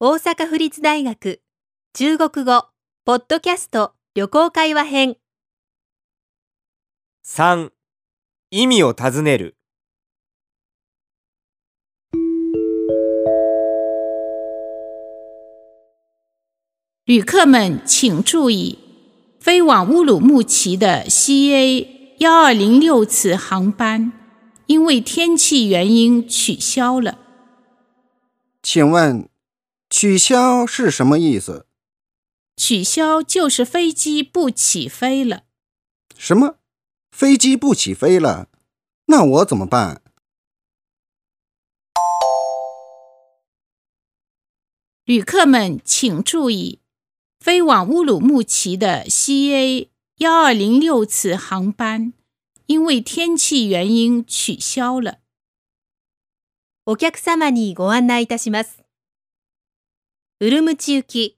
大阪府立大学中国語ポッドキャスト旅行会話編。 3. 意味を尋ねる。 旅客们请注意，飞往乌鲁木齐的 CA1206 次航班因为天气原因取消了。 请问取消是什么意思？ 取消就是飞机不起飞了。 什么？飞机不起飞了？那我怎么办？ 旅客们请注意，飞往乌鲁木齐的 CA1206 次航班因为天气原因取消了。 お客様にご案内いたします。ウルムチ行き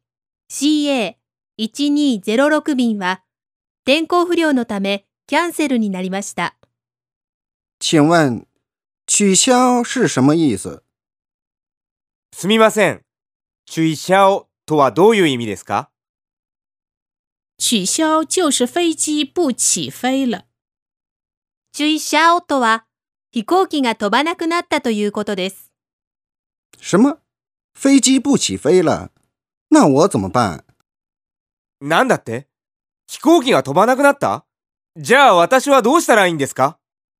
CA1206 便は天候不良のためキャンセルになりました。 请问取消是什么意思？ すみません。取消とはどういう意味ですか？ 取消就是飞機不起飛了。 取消とは飛行機が飛ばなくなったということです。 什么？飞机不起飞了？那我怎么办？ なんだって？飛行機が飛ばなくなった？じゃあ私はどうしたらいいんですか？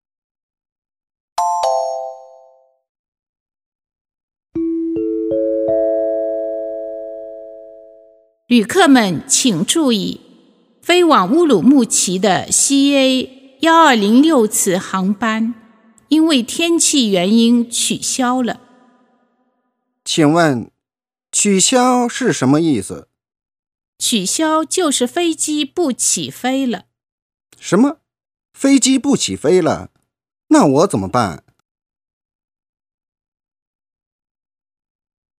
旅客们请注意，飞往乌鲁木齐的 CA1206 次航班因为天气原因取消了。 请问取消是什么意思？ 取消就是飞机不起飞了。 什么？飞机不起飞了？那我怎么办？